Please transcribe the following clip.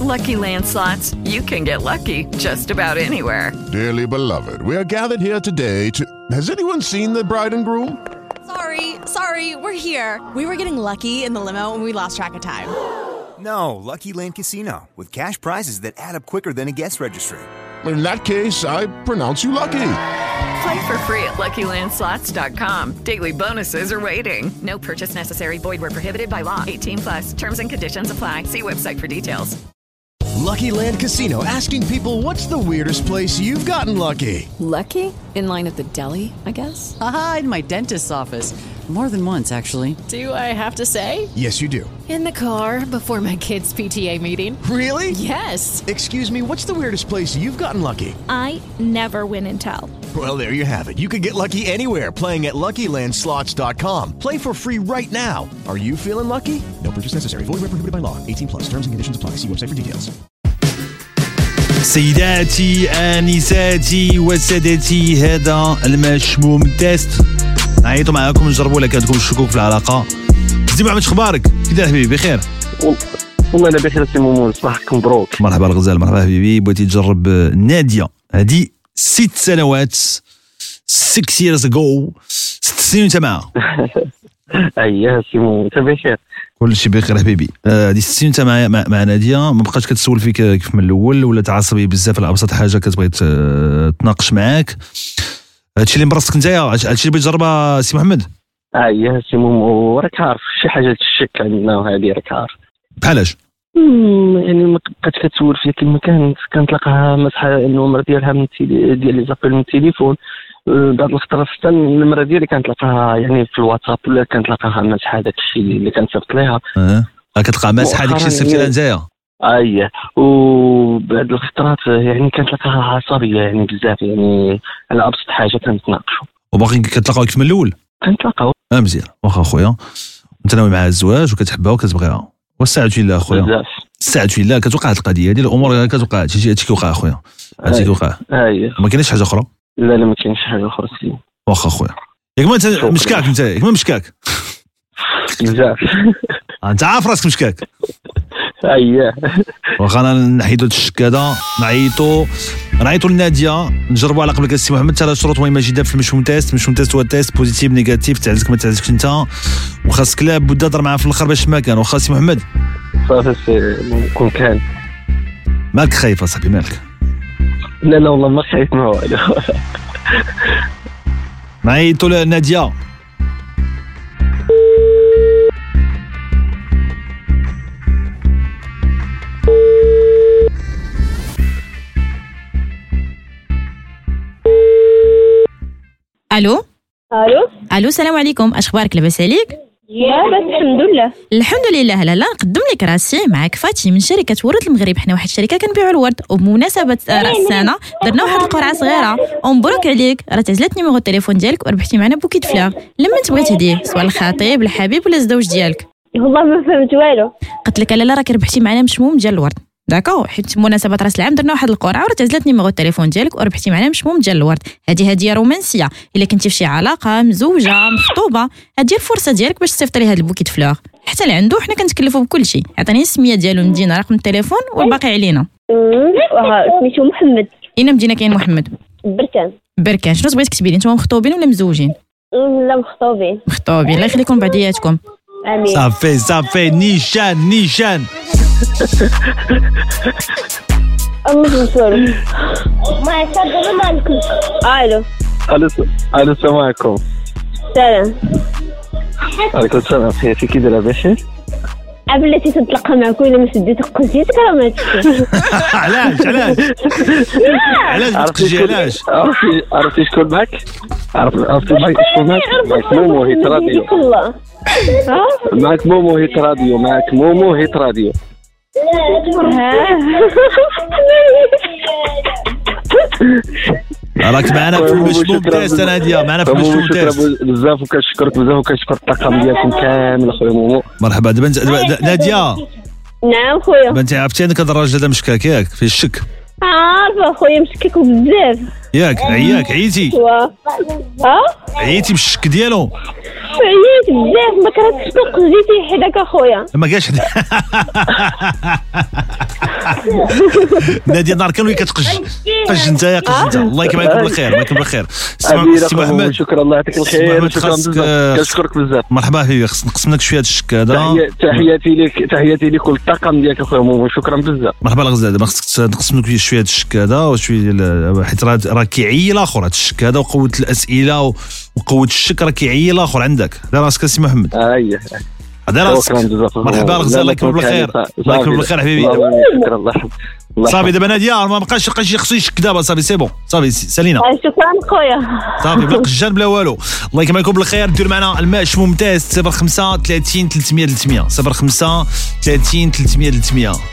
Lucky Land Slots, you can get lucky just about anywhere. Dearly beloved, we are gathered here today to... Has anyone seen the bride and groom? Sorry, we're here. We were getting lucky in the limo and we lost track of time. No, Lucky Land Casino, with cash prizes that add up quicker than a guest registry. In that case, I pronounce you lucky. Play for free at LuckyLandSlots.com. Daily bonuses are waiting. No purchase necessary. Void where prohibited by law. 18+. Terms and conditions apply. See website for details. Lucky Land Casino, asking people, what's the weirdest place you've gotten lucky? Lucky? In line at the deli, I guess? Aha, in my dentist's office. More than once, actually. Do I have to say? Yes, you do. In the car before my kids' PTA meeting. Really? Yes. Excuse me, what's the weirdest place you've gotten lucky? I never win and tell. Well, there you have it. You can get lucky anywhere, playing at LuckyLandSlots.com. Play for free right now. Are you feeling lucky? No purchase necessary. Void where prohibited by law. 18+. Terms and conditions apply. See website for details. سيداتي آنساتي وسادتي، هذا المشموم تيست. نعيطوا معاكم نجربوا لك عندكم الشكوك في العلاقة. سيدي محمد، شخبارك؟ كي داير حبيبي؟ بخير والله انا بخير سي مومو، صباحك مبروك. مرحبا الغزال، مرحبا حبيبي. بغيتي تجرب نادية، هذه 6 سنوات 6 years ago، 6 سنين وانت معها. اييه سي مومو، انت بخير؟ كل شيء بخير حبيبي. هذه 6 سنين انت مع نادية، ما بقاش كتسول فيك كيف من الاول، ولا تعصبي بزاف على ابسط حاجه كتبغي تناقش معاك. هادشي اللي مرستك نتايا، هادشي اللي بغيت تجربها سي محمد. اييه سي مومو، راك عارف شي حاجه تشك عندنا وهذه راك عارف. بحالاش؟ يعني ما بقاتش كتسول فيا كيما كنتلقاها مسحه النمره ديالها من ديال لي زابيل من التليفون. بعض الخطرات حتى النمره ديالي كنتلقاها يعني في الواتساب، ولا كنتلقاها مسحه داك الشيء اللي كنصيفط ليها. كتلقى مسحه داك الشيء اللي صيفطتي لها نتايا. اييه، وبعد الخطرات يعني كنتلقاها عصبيه يعني بزاف، يعني على ابسط حاجه كنتناقشوا. وباقي كتلاقاو كيف من الاول؟ كنتلاقاو. مزيان، واخا اخويا انت ناوي مع الزواج وكتحبها وكتبغيها، واستعد بالله اخويا، استعد بالله. كتوقع هاد القضيه هذه، الامور كتوقع، هادشي كيوقع اخويا، هادشي كيوقع. اييه، ما كاينش حاجه اخرى. لا ما كاينش حاجه اخرى سي. واخا اخويا، ياك ما انت مشكاك، ياك ما مشكاك بزاف. انت عارف راسك مشكاك. اييه، واخا انا نحيدو الشك هذا، نعيطوا لناديه، نجربوا على قبل السي محمد 3 شروط مهمه جدا في المشموم تيست. المشموم تيست هو تيست بوزيتيف نيجاتيف، تعزك ما تعزكش انت، وخاصك لا بد تهضر معاه في الاخر باش ما كان. واخا سي محمد صافي كون كان. مالك خايف اصاحبي؟ مالك؟ لا والله ما خايف ما والو. نعيطوا لناديه. الو السلام عليكم، اش اخبارك؟ لاباس عليك؟ لاباس الحمد لله. لالا نقدم لك راسي، معك فاتي من شركه ورد المغرب. حنا واحد الشركه كنبيعوا الورد، وبمناسبه راس السنه درنا واحد القرعه صغيره، ومبروك عليك، راه تعزلت نيميرو التليفون ديالك وربحتي معنا بوكيت فلاغ. لما تبغي تهديه سواء الخطيب الحبيب ولا الزوج ديالك. والله ما فهمت والو. قلت لك لالا راك ربحتي معنا مشموم ديال الورد، داكو، حيت بمناسبه راس العام درنا واحد القرعه وراه تعزلت نيميرو التليفون ديالك وربحتي معنا مشموم ديال الورد. هذه هديه رومانسيه، الا كنتي في شي علاقه مزوجه مخطوبه، هذه الفرصه ديالك باش تصيفط ليه هذا البوكيت فلاغ. حتى اللي عنده حنا كنتكلفوا بكل شيء. عطيني السميه ديالو، المدينه، رقم التليفون والباقي علينا. سميتو محمد. اين مدينه كاين محمد؟ بركان. شنو بغيتي تكتبي لي؟ نتوما مخطوبين ولا مزوجين؟ لا مخطوبين. الله يخليكم بعضياتكم. امين. صافي نيشان. ما يصدق مالكم. الو السلام عليكم. سلام. عليكم السلام، حياتي كي دايره؟ بخير. بلاتي تطلقها معك ولا ما سديت قزيتك راه ما تشوفش. علاش تقجي؟ علاش؟ عرفتي شكون معك؟ عرفتي شكون معك؟ مومو هيت راديو. معك مومو هيت راديو. راك معنا في المشموم تيست. ناديه معنا في المشموم تيست. بزاف وكنشكرك بزاف وكنشكر الطاقم ديالكم كامل اخويا مومو. مرحبا. دابا ناديه. نعم خويا. دابا انت عرفتي انك هذا الراجل هذا مشكاك ياك؟ فيه الشك. عارفه خويا، مشكك بزاف ياك. عييتي؟ عييتي بالشك ديالو؟ عييت بزاف، ما كرهتش تلق جيتي حداك اخويا. ما كاش ناديه نهار كان وهي كتقج انت يا قج انت. الله يكمل عليكم بالخير، الله يكمل بالخير. سي محمد شكرا، الله يعطيك الخير، شكرا بزاف، كنشكرك بزاف. مرحبا فيك، خصنا نقسم لك شويه الشك هذا. تحياتي لك كل الطاقم ديالك اخويا مومو، شكرا بزاف. مرحبا الغزال، دابا خصك نقسم لك شويه الشك هذا وشويه، حيت راه كيعيي الاخر هذا الشك هذا، وقوه الاسئله وقوه الشك راه كيعيي الاخر عندك. دار راسك سي محمد. هذا راسك. مرحبا الغزال، الله يكمل بالخير، الله يكمل بالخير حبيبي. شكرا الله. صافي دابا ناديه ما بقاش خصو يشك دابا، صافي سي بون، صافي سالينا. شكرا خويا. صافي بلا قجان بلا والو. الله يكمل عليكم بالخير. دير معنا الماش ممتاز 05 30 300 300 05 30 300 300.